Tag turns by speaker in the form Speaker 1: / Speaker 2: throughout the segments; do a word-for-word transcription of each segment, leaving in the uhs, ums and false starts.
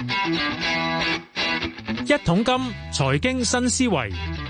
Speaker 1: 一桶金財經新思維，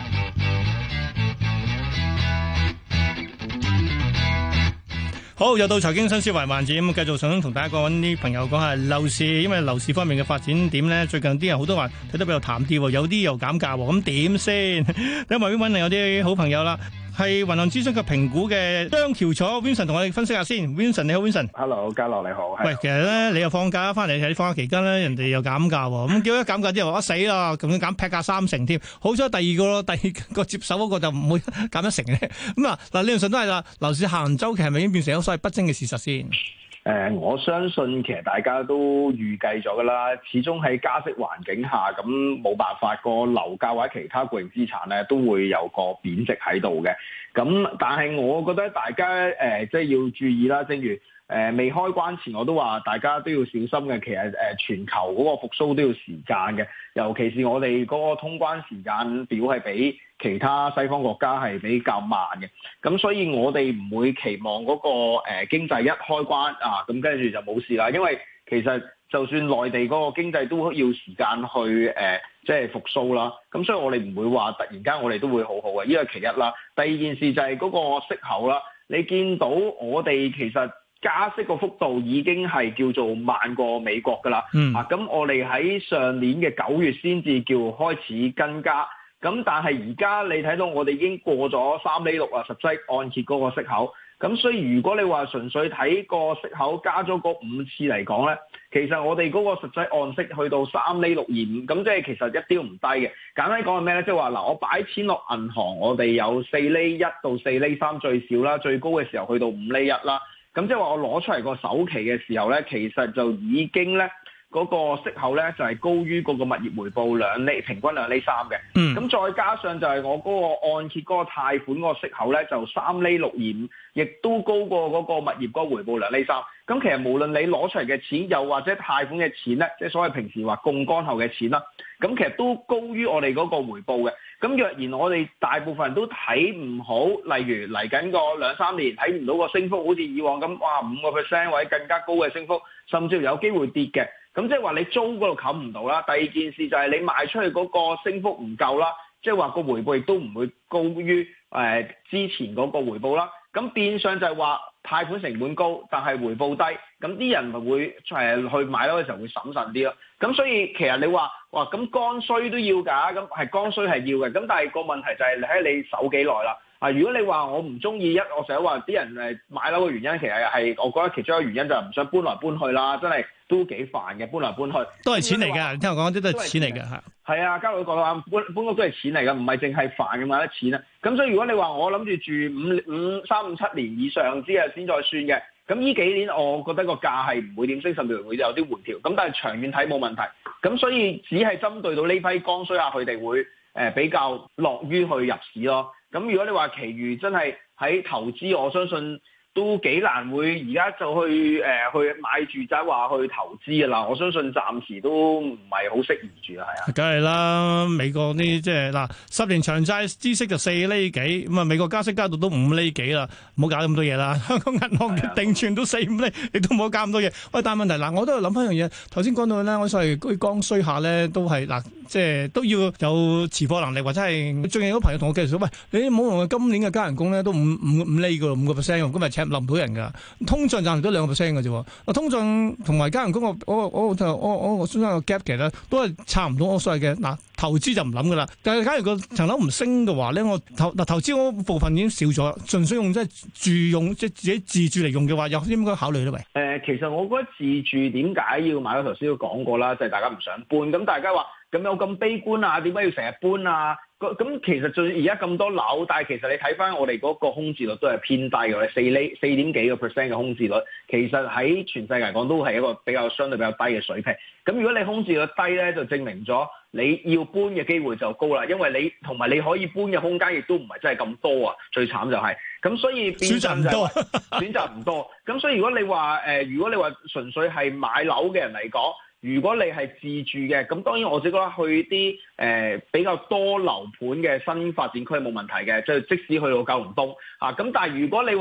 Speaker 2: 好，又到財經新思維環節，咁繼續想同大家講啲朋友講下樓市，因為樓市方面嘅發展點咧，最近啲人好多話睇得比較淡啲，有啲又減價，咁點先？喺外邊揾嚟有啲好朋友啦。係銀行諮詢及評估嘅張翹楚 Vincent 同我哋分析下先。Vincent 你好 ，Vincent。Hello，
Speaker 3: 嘉樂你好。
Speaker 2: 喂，其實咧你又放假翻嚟喺放假期間咧，人哋又減價喎，咁叫一減價之後話死啦，咁樣減劈價三成添。好彩第二個咯，第二個接手嗰個就唔會減一成嘅。咁啊嗱，理論上都係啦，樓市下行週期係咪已經變成咗所謂不爭嘅事實先？
Speaker 3: 誒、呃，我相信其實大家都預計咗㗎啦。始終喺加息環境下，咁冇辦法，個樓價或者其他固定資產咧都會有個貶值喺度嘅。咁但係我覺得大家誒、呃、即係要注意啦。正如誒、呃、未開關前我都話，大家都要小心嘅。其實誒、呃、全球嗰個復甦都要時間嘅，尤其是我哋嗰個通關時間表係比其他西方國家係比較慢嘅。咁所以我哋唔會期望嗰、那個誒、呃、經濟一開關啊，咁跟住就冇事啦。因為其實就算內地嗰個經濟都要時間去誒、呃、即係復甦啦。咁所以我哋唔會話突然間我哋都會好好嘅，呢個其一啦。第二件事就係嗰個息口啦。你見到我哋其實加息個幅度已經係叫做慢過美國㗎啦。嗯、啊，咁我哋喺上年嘅九月先至叫開始跟加。咁但係而家你睇到我哋已經過咗三厘六啊，實際按揭嗰個息口。咁所以如果你話純粹睇個息口加咗嗰五次嚟講咧，其實我哋嗰個實際按息去到三厘六二五，咁即係其實一啲都唔低嘅。簡單講係咩咧？即係話嗱，我擺錢落銀行，我哋有四厘一到四厘三最少啦，最高嘅時候去到五厘一啦。咁即係話我攞出嚟個首期嘅時候咧，其實就已經咧。嗰個息口咧就係、是、高於嗰個物業回報兩厘，平均兩厘三嘅。嗯，咁再加上就係我嗰個按揭嗰個貸款嗰個息口咧就三厘六二五，亦都高過嗰個物業嗰個回報兩厘三。咁其實無論你攞出嚟嘅錢，又或者貸款嘅錢咧，即係所謂平時話槓桿後嘅錢啦，咁其實都高於我哋嗰個回報嘅。咁若然我哋大部分人都睇唔好，例如嚟緊個兩三年睇唔到個升幅，好似以往咁，哇五個 percent 或者更加高嘅升幅，甚至有機會跌嘅。咁即係話你租嗰度冚唔到啦。第二件事就係你賣出去嗰個升幅唔夠啦，即係話個回報亦都唔會高於誒、呃、之前嗰個回報啦。咁變相就係話貸款成本高，但係回報低，咁啲人咪會誒去買樓嘅時候會審慎啲咯。咁所以其實你話哇咁剛需都要㗎，咁係剛需係要嘅。咁但係個問題就係你喺你守幾耐啦。啊，如果你話我唔中意一，我成日話啲人誒買樓嘅原因，其實係我覺得其中一個原因就係唔想搬來搬去啦，真係都幾煩嘅，搬來搬去
Speaker 2: 都係錢嚟㗎。你聽我講啲都係錢嚟㗎嚇。
Speaker 3: 係啊，嘉樂講話搬搬屋都係錢嚟㗎，唔係淨係煩咁買得錢啊。咁所以如果你話我諗住住五五三五七年以上之後先再算嘅，咁呢幾年我覺得個價係唔會點升，甚至會有啲回調。咁但係長遠睇冇問題。咁所以只係針對到呢批剛需啊，佢哋會誒比較樂於去入市咯。咁如果你話其餘真係喺投資，我相信都幾難會而家就去誒、呃、去買住宅話去投資㗎啦。我相信暫時都唔係好適宜住啊，係啊。
Speaker 2: 梗係啦，美國啲即係嗱十年長債孳息就四厘幾，咁啊美國加息加到都五厘幾啦，唔好搞咁多嘢啦。香港銀行嘅定存都四五厘，你都唔好搞咁多嘢。喂，但係問題嗱，我都係諗翻樣嘢。頭先講到咧，我所謂嗰啲剛需下咧，都係嗱，即係都要有持貨能力，或者係最近有個朋友同我介紹，喂，你唔好用今年嘅加人工咧都五五五厘㗎，五個 percent，今日請冧唔到人㗎。通脹暫時都兩個 percent 嘅啫。啊，通脹同埋加人工我我我我我我相信個 gap 其實都係差唔多。我所謂嘅嗱，投資就唔諗㗎啦。但係假如個層樓唔升嘅話咧，我投嗱投資嗰部分已經少咗，純粹用即係住用即係自己自住嚟用嘅話，有啲應該考慮咧？喂，
Speaker 3: 誒，其實我覺得自住點解要買樓？頭先都講過啦，就係、是、大家唔想搬。咁大家話咁有咁悲觀啊？點解要成日搬啊？咁其實最而家咁多樓，但係其實你睇翻我哋嗰個空置率都係偏低嘅，四厘四點幾個 percent 嘅空置率，其實喺全世界嚟講都係一個比較相對比較低嘅水平。咁如果你空置率低咧，就證明咗你要搬嘅機會就高啦，因為你同埋你可以搬嘅空間亦都唔係真係咁多啊。最慘就係、是、咁，所以變相就係、是、選擇唔多，選擇唔多。咁所以如果你話誒、呃，如果你話純粹係買樓嘅人嚟講，如果你係自住嘅，咁當然我自己覺得去啲誒、呃、比較多樓盤嘅新發展區冇問題嘅，即係即使去到九龍東啊。咁但係如果你話誒、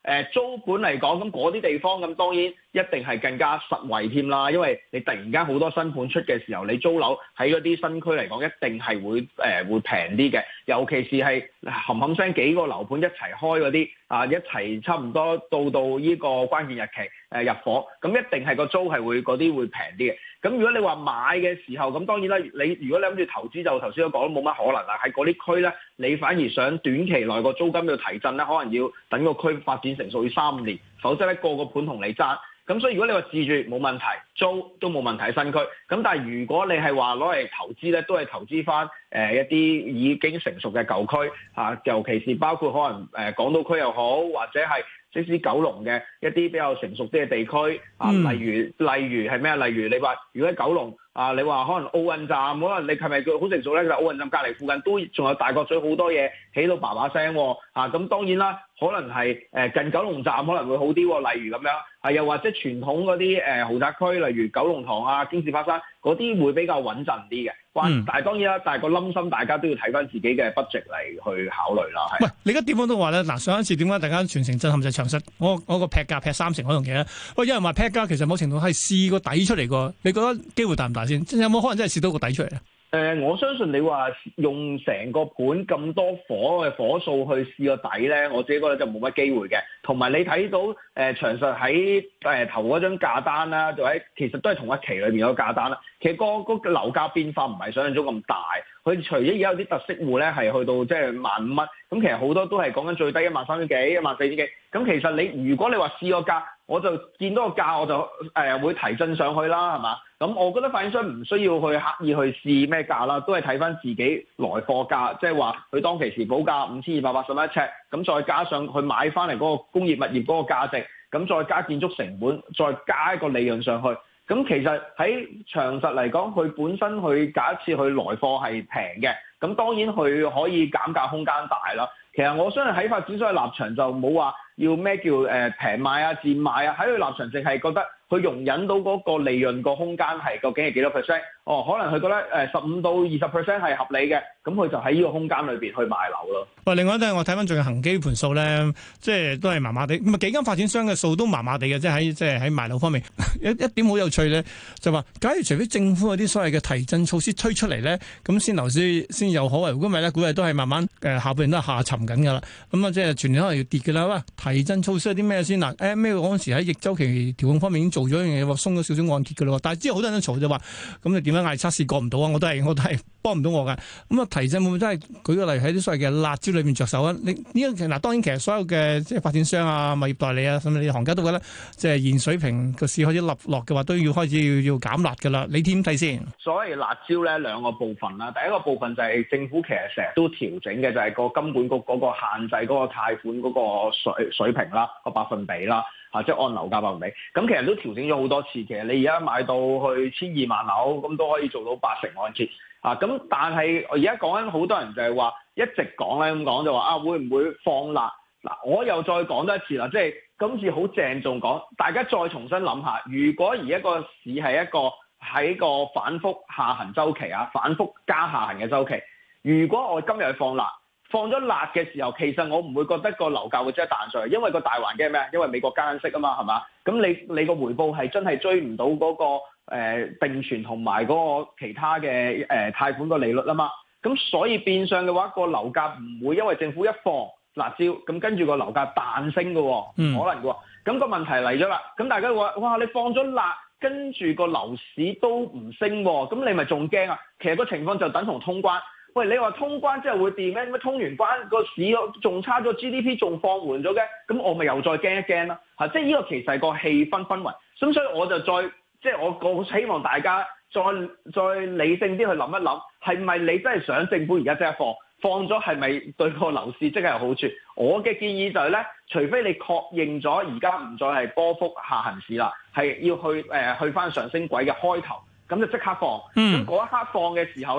Speaker 3: 呃、租盤嚟講，咁嗰啲地方咁當然一定係更加實惠添啦，因為你突然間好多新盤出嘅時候，你租樓喺嗰啲新區嚟講，一定係會誒、呃、會平啲嘅，尤其是係冚冚聲幾個樓盤一齊開嗰啲啊，一齊差唔多到到呢個關鍵日期誒、呃、入伙，咁一定係個租係會嗰啲會平啲嘅。咁如果你話買嘅時候，咁當然啦，你如果你諗住投資就頭先都講冇乜可能啦。喺嗰啲區咧，你反而想短期內個租金要提振咧，可能要等個區發展成熟要三年，否則咧個個盤同你爭。咁所以如果你話自住冇問題，租都冇問題喺新區。咁但係如果你係話攞嚟投資咧，都係投資翻誒一啲已經成熟嘅舊區嚇，尤其是包括可能誒港島區又好，或者係即使九龍嘅一啲比較成熟啲嘅地區啊，例如例如係咩啊？例如你話如果喺九龍啊，你話可能奧運站，可能你係咪佢好成熟咧？就奧運站隔離附近都仲有大角咀好多嘢起到叭叭聲喎啊！咁當然啦，可能係誒近九龍站可能會好啲喎，例如咁樣啊，又或者傳統嗰啲誒豪宅區，例如九龍塘啊、京士柏山嗰啲會比較穩陣啲嘅。嗯、但係當然啦，但係個冧心大家都要睇翻自己嘅 budget 嚟去考慮啦。係。喂，
Speaker 2: 你而家點講都話咧，嗱上一次點解大家全城震撼就係長實，我我個劈價劈三成嗰樣嘢咧。喂，有人話劈價其實某程度係試個底出嚟個，你覺得機會大唔大先？有冇可能真係試到個底出嚟啊？
Speaker 3: 誒、呃，我相信你話用成個盤咁多火嘅火數去試個底咧，我自己覺得就冇乜機會嘅。同埋你睇到誒、呃、長實喺誒投嗰張價單啦，就喺其實都係同一期裏面有個價單啦。其實個個樓價變化唔係想象中咁大。佢除咗而家有啲特色戶咧係去到即係萬五蚊，咁其實好多都係講緊最低一萬三千幾、一萬四千幾。咁其實你如果你話試個價，我就見到個價我就誒、呃、會提振上去啦，係嘛？咁我覺得發展商唔需要去刻意去試咩價啦，都係睇翻自己來貨價，即係話佢當其時補價五千二百八十蚊一尺，咁再加上佢買翻嚟嗰個工業物業嗰個價值，咁再加建築成本，再加一個利潤上去。咁其實喺長實嚟講，佢本身佢假設佢來貨係平嘅，咁當然佢可以減價空間大啦。其實我相信喺發展商嘅立場就冇話要咩叫誒平賣啊、賤賣啊，喺佢立場淨係覺得佢容忍到嗰個利潤個空間係究竟係幾多 percent？哦，可能佢覺得誒十五到二十 percent 係合理嘅，咁佢就喺呢個空間裏邊去賣樓咯。
Speaker 2: 喂，另外咧，我睇翻最近恒基盤數咧，即係都係麻麻地，咁啊幾間發展商嘅數都麻麻地嘅，即係喺即係喺賣樓方面，一一點好有趣咧，就話假如除非政府有啲所謂嘅提振措施推出嚟咧，咁先樓市先有可為。如果唔係咧，估計都係慢慢誒、呃、下半年都係下沉緊㗎啦。咁啊，即係全年可能要跌㗎啦。喂，提振措施係啲咩先嗱？誒咩嗰陣時喺逆周期調控方面已經做咗一樣嘢喎，鬆咗少少按揭㗎啦。但係之後好多人都嘈就話，咁你點樣嗌測試過唔到啊？我都係我都係幫唔到我㗎。咁啊，提振會唔會真係舉個例喺啲所謂嘅辣椒裏面着手啊？你呢個嗱當然其實所有嘅即係發展商啊、物業代理啊，甚至你行家都覺得即係現水平個市開始立落嘅話，都要開始要要減辣㗎啦。你點睇先？
Speaker 3: 所謂辣椒咧兩個部分啦，第一個部分就係政府其實成日都調整嘅，就係個金管局嗰個限制嗰個貸款嗰個水水平啦，個百分比啦，嚇即係按樓價百分比。咁其實都調整咗好多次。其實你而家買到去千二萬樓，咁都可以做到八成按揭。啊，咁但係而家講緊好多人就係話一直講咧咁講就話啊會唔會放辣？嗱，我又再講多一次啦，即係今次好鄭重講，大家再重新諗下，如果而一個市係一個喺個反覆下行周期啊，反覆加下行嘅周期，如果我今日去放辣，放咗辣嘅時候，其實我唔會覺得個樓價會即係彈上去，因為個大環境係咩啊？因為美國加息啊嘛，係嘛？咁你你個回報係真係追唔到嗰個誒定存同埋嗰個其他嘅誒貸款個利率啊嘛。咁所以變相嘅話，個樓價唔會因為政府一放辣椒，咁跟住個樓價彈升嘅，唔可能嘅。咁個問題嚟咗啦，咁大家話哇，你放咗辣，跟住個樓市都唔升，咁你咪仲驚啊？其實個情況就等同通關。喂，你話通關之後會掂咩？咩通完關個市仲差咗 G D P 仲放緩咗嘅，咁我咪又再驚一驚啦嚇！即係呢個其實係個氣氛氛圍，咁所以我就再即係我我希望大家再再理性啲去諗一諗，係咪你真係想政府而家即係放放咗係咪對個樓市即係有好處？我嘅建議就係咧，除非你確認咗而家唔再係波幅下行市啦，係要去誒、呃、去翻上升軌嘅開頭，咁就即刻放。咁嗰、嗯、一刻放嘅時候咧。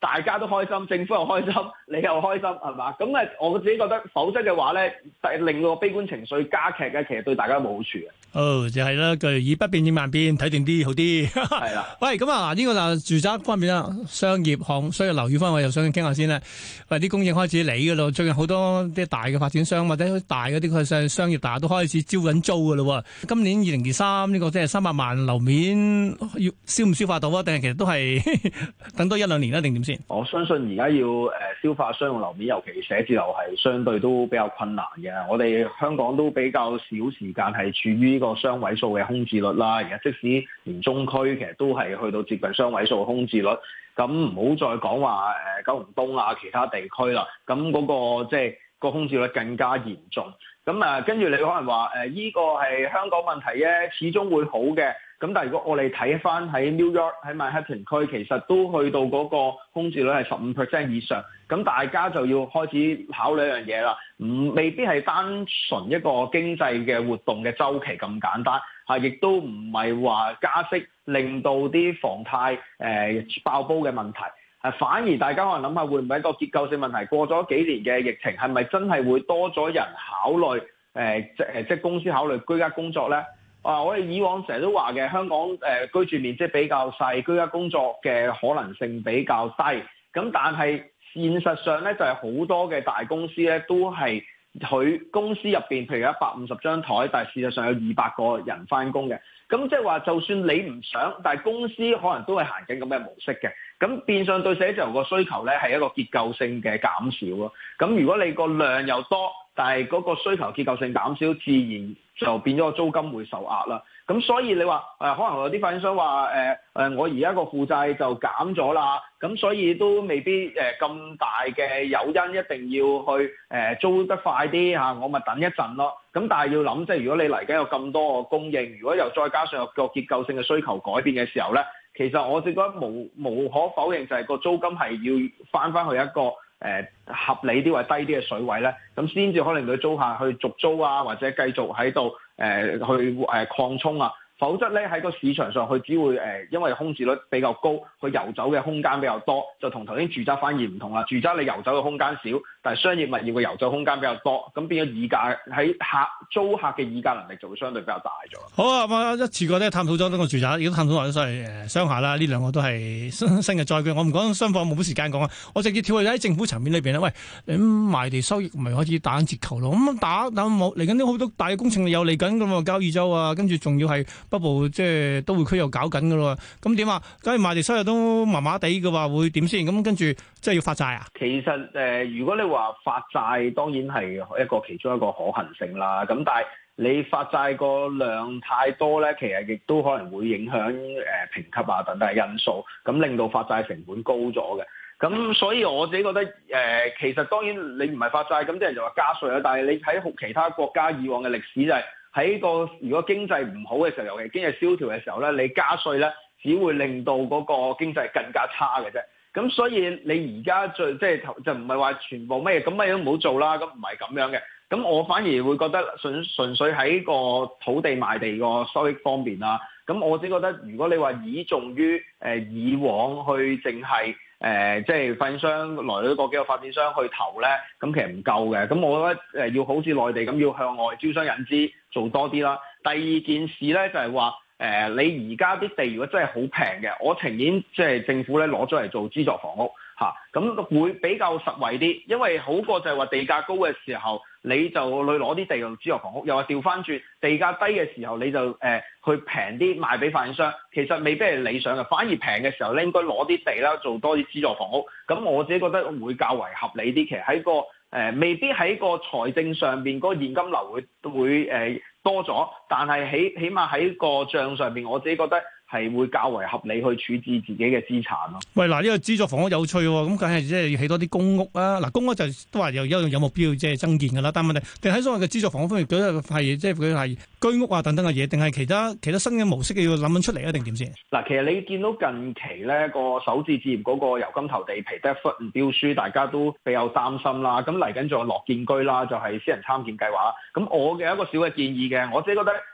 Speaker 3: 大家都開心，政府又開心，你又開心，係嘛？咁誒，我自己覺得，否則嘅話咧，令到個悲觀情緒加劇嘅，其實對大家冇好處嘅。
Speaker 2: 哦，就係啦，句以不變應萬變，睇定啲好啲。
Speaker 3: 係啦，
Speaker 2: 喂，咁啊，嗱呢個嗱住宅方面啦，商業項、商業樓宇方面，我又想傾下先啦。喂，啲供應開始嚟嘅咯，最近好多啲大嘅發展商或者大嗰啲佢商商業大都開始招緊租嘅咯。今年二零二三呢個即係三百萬樓面要消唔消化到啊？定係其實都係等多一兩年啦，定點先？
Speaker 3: 我相信而家要誒消化商用樓面，尤其寫字樓係相對都比較困難嘅。我哋香港都比較少時間係處於呢個雙位數嘅空置率啦。而家即使連中區其實都係去到接近雙位數嘅空置率，咁唔好再講話誒九龍東啊其他地區啦。咁嗰、那個即係、就是、個空置率更加嚴重。咁啊，跟住你可能話誒依個係香港問題啫，始終會好嘅。咁但係如果我哋睇翻喺 New York 喺曼哈頓區，其實都去到嗰個空置率係十五 percent 以上，咁大家就要開始考慮一樣嘢啦。唔未必係單純一個經濟嘅活動嘅週期咁簡單，嚇，亦都唔係話加息令到啲房貸誒、呃、爆煲嘅問題。係反而大家可能諗下，會唔會一個結構性問題？過咗幾年嘅疫情，係咪真係會多咗人考慮誒、呃、即誒即公司考慮居家工作咧？啊！我哋以往成日都話嘅，香港誒、呃、居住面積比較細，居家工作嘅可能性比較低。咁但係現實上咧，就係、是、好多嘅大公司咧，都係佢公司入邊，譬如一百五十張台，但係事實上有二百個人返工嘅。咁即係話，就算你唔想，但係公司可能都係行緊咁嘅模式嘅。咁變相對寫字樓個需求咧，係一個結構性嘅減少咯。咁如果你個量又多，但係嗰個需求結構性減少，自然就變咗個租金會受壓啦。咁所以你話誒、呃，可能有啲發展商話誒誒，我而家個負債就減咗啦，咁所以都未必誒咁、呃、大嘅誘因一定要去誒、呃、租得快啲嚇，我咪等一陣咯。咁但係要諗，即係如果你嚟緊有咁多個供應，如果又再加上有個結構性嘅需求改變嘅時候咧，其實我覺得無無可否認就係個租金係要翻翻去一個誒、呃、合理啲或者低啲嘅水位咧，咁先至可能佢租客去續租啊，或者繼續喺度誒去誒、呃、擴充啊。否則咧喺個市場上，佢只會誒、呃，因為空置率比較高，佢遊走嘅空間比較多，就同頭先住宅反而唔同啦。住宅你遊走嘅空間少，但係商業物業嘅遊走空間比較多，咁變咗議價喺客租客嘅議價能力就會相對比較大咗。
Speaker 2: 好啊，咁一次過咧探討咗呢個住宅，亦都探討埋所謂誒商廈啦。呢兩個都係新新嘅載具，我唔講商房冇乜時間講啊。我直接跳去喺政府層面裏邊咧，喂，咁賣地收益咪開始打緊折扣咯。咁打打冇嚟緊啲好多大嘅工程又嚟緊㗎嘛，交椅洲啊，跟住仲要係北部即係都會區又搞緊㗎咯。咁點啊？假如賣地收入都麻麻地嘅話，會點先？咁跟住即係要發債啊？
Speaker 3: 其實誒、呃，如果你話發債，當然係一個其中一個可行性啦。咁但係你發債個量太多咧，其實亦都可能會影響誒、呃、評級啊等等嘅因素，咁令到發債成本高咗嘅。咁所以我自己覺得誒、呃，其實當然你唔係發債，咁啲人就話加稅啦。但係你喺其他國家以往嘅歷史就係、是、喺個如果經濟唔好嘅時候，尤其經濟蕭條嘅時候咧，你加稅咧，只會令到嗰個經濟更加差嘅啫。咁所以你而家最即係就唔係話全部乜嘢，咁乜嘢都唔好做啦。咁唔係咁樣嘅。咁我反而會覺得純純粹喺個土地賣地個收益方面啦。咁我只覺得如果你話倚重於誒、呃、以往去淨係誒即係發展商來咗個幾個發展商去投咧，咁其實唔夠嘅。咁我覺得誒要好似內地咁，要向外招商引資做多啲啦。第二件事咧就係話。誒、呃，你而家啲地如果真係好平嘅，我情願即係政府咧攞咗嚟做資助房屋嚇，咁、啊、會比較實惠啲，因為好過就係話地價高嘅時候，你就去攞啲地做資助房屋，又話調翻轉地價低嘅時候，你就誒、呃、去平啲賣俾發展商，其實未必係理想嘅，反而平嘅時候咧應該攞啲地啦做多啲資助房屋，咁我自己覺得會較為合理啲。其實喺個誒、呃、未必喺個財政上邊嗰個現金流會會誒。呃多咗，但係起起碼喺個帳上邊，我自己覺得係會較為合理去處置自己嘅資產咯。
Speaker 2: 喂，嗱、這、呢個資助房屋有趣喎，咁梗係即係要起多啲公屋啊！嗱，公屋就都話有有有目標即係增建㗎啦，但係問題定喺所謂嘅資助房屋方面，佢係即係佢係居屋啊等等嘅嘢，定係其他其他新嘅模式要諗緊出嚟啊？定點先？嗱，
Speaker 3: 其實你見到近期咧個首置置業嗰個由金投地皮得一忽唔標書，大家都比較擔心啦。咁嚟緊仲有樂建居啦，就係、是、私人參建計劃。咁我嘅一個小嘅建議嘅，我自己覺得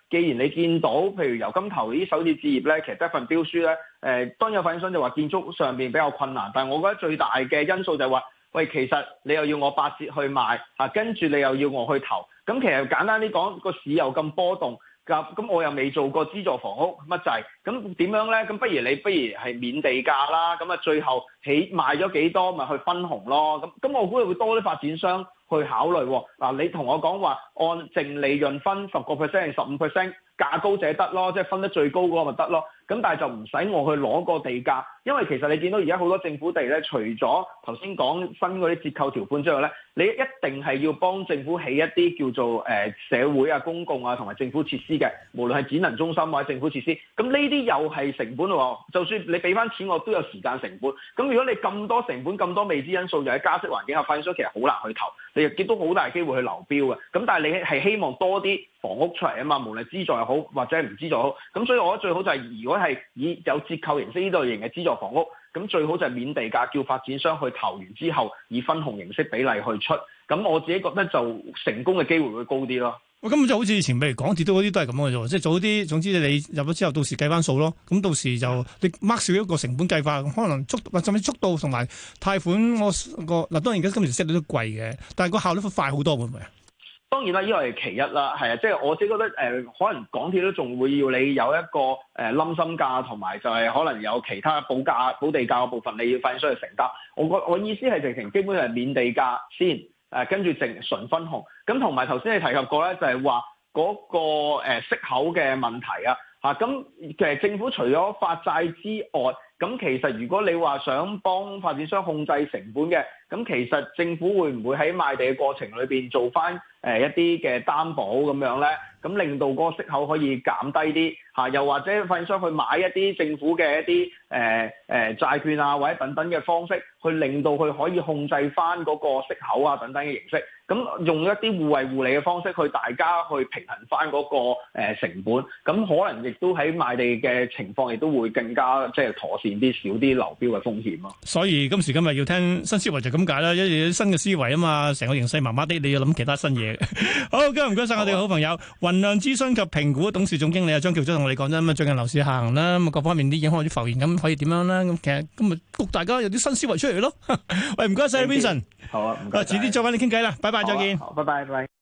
Speaker 3: 既然你見到譬如油金頭呢啲首次置業咧，其實得一份標書咧，誒、呃、當有發展商就話建築上邊比較困難，但係我覺得最大嘅因素就係話，喂，其實你又要我八折去賣嚇，跟、啊、住你又要我去投，咁其實簡單啲講，個市又咁波動。咁我又未做過資助房屋乜滯，咁點樣咧？咁不如你不如係免地價啦，咁啊最後起賣咗幾多咪去分紅咯。咁咁我估會多啲發展商去考慮。嗱，你同我講話按淨利潤分十個 percent 定十五 percent，價高者得咯，即係分得最高嗰個咪得咯。咁但係就唔使我去攞個地價，因為其實你見到而家好多政府地咧，除咗頭先講新嗰啲折扣條款之外咧，你一定係要幫政府起一啲叫做誒、呃、社會啊、公共啊同埋政府設施嘅，無論係展能中心或者政府設施。咁呢啲又係成本喎，就算你俾翻錢我都有時間成本。咁如果你咁多成本、咁多未知因素，又喺加息環境下，發展商其實好難去投，你亦都好大機會去流標嘅。咁但係你係希望多啲房屋出嚟啊嘛，無論資助又好或者唔資助好。咁所以我覺得最好就係如果係以有折扣形式呢類型嘅資助房屋，咁最好就係免地價，叫發展商去投完之後以分紅形式比例去出。咁我自己覺得就成功嘅機會會高啲咯。
Speaker 2: 喂，咁就好似以前譬如港鐵都嗰啲都係咁嘅啫，即係早啲，總之你入咗之後，到時計翻數咯。咁到時就你 mark 少一個成本計法，可能速或甚至速度同埋貸款我個嗱，當然而家今時 set 到都貴嘅，但係個效率會快好多，會唔會啊？
Speaker 3: 當然啦，呢個係其一啦，係啊，即係我自己覺得誒、呃，可能港鐵都仲會要你有一個誒冧心價，同埋就係可能有其他補價、補地價嘅部分，你要發展商去承擔。我個我意思係直情基本上係免地價先，誒、呃、跟住淨純分紅。咁同埋頭先你提及過咧，就係話嗰個誒、呃、息口嘅問題啊，嚇咁其實政府除咗發債之外，咁其實如果你話想幫發展商控制成本嘅，咁其實政府會唔會喺賣地嘅過程裏邊做翻誒一啲嘅擔保咁樣咧？咁令到嗰個息口可以減低啲嚇，又或者發展商去買一啲政府嘅一啲誒誒債券啊，或者等等嘅方式，去令到佢可以控制翻嗰個息口啊等等嘅形式。咁用一啲互惠互利嘅方式，去大家去平衡翻嗰個誒成本。咁可能亦都喺賣地嘅情況，亦都會更加即係妥善啲，少啲流標嘅風險咯。
Speaker 2: 所以今時今日要聽新思維就咁解啦，因為有新嘅思維啊嘛，成個形勢麻麻地，你要諗其他新嘢。好，今日唔該晒我哋嘅好朋友。雲量諮詢及評估董事總經理啊張翹祖同我哋講真，咁啊最近樓市下行啦，咁各方面啲影響啲浮現，咁可以點樣咧？咁其實今日谷大家有啲新思維出嚟咯。喂，唔該晒 Vincent。
Speaker 3: 好啊，唔該。
Speaker 2: 遲啲再揾你傾偈啦，拜拜，再見。
Speaker 3: 好，拜拜，拜拜。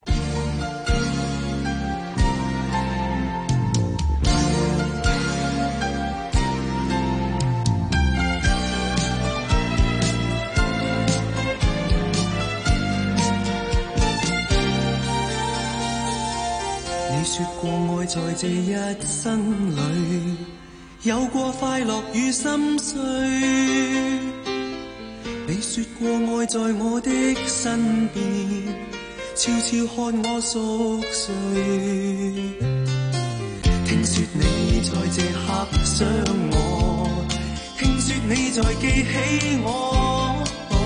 Speaker 4: 你說過愛在這一生裏，有過快樂與心碎。你說過愛在我的身邊，悄悄看我熟睡。聽說你在這刻想我，聽說你在記起我，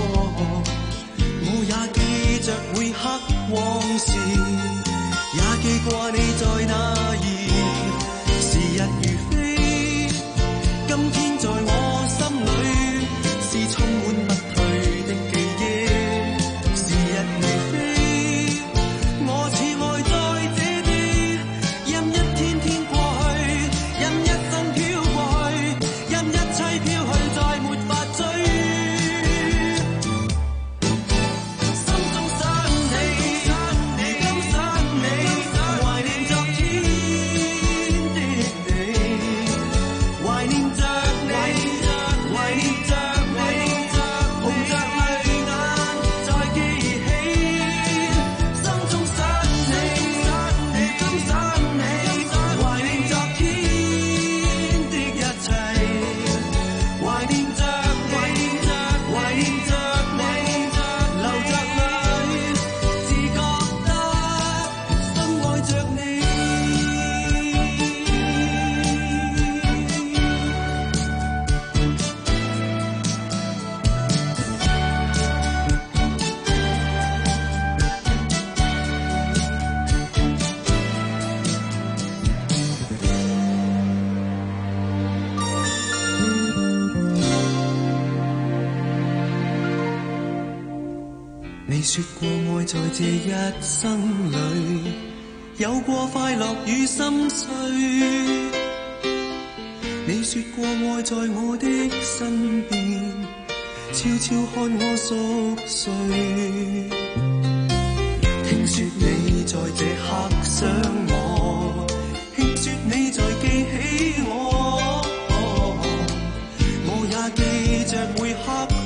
Speaker 4: 我也記着每刻往事，也記掛你在哪兒。時日如飛，今天在我心裏是充滿不退的記憶。時日如飛，我似愛在這地，任一天天過去，任一生飄過去，任一切飄去，再沒法追。心中想你，如今想你，懷念昨天的你，懷念着你，懷念着你，紅着淚眼再記起。心中想你，如今想你，懷念昨天的一切，懷念着你，懷念着你，流着淚，只覺得深愛着你。你說過愛在這一生裏， 有過快樂與心碎。你說過愛在我的身邊，悄悄看我熟睡。聽說你在這刻想我，聽說你在記起我，我也記着每刻。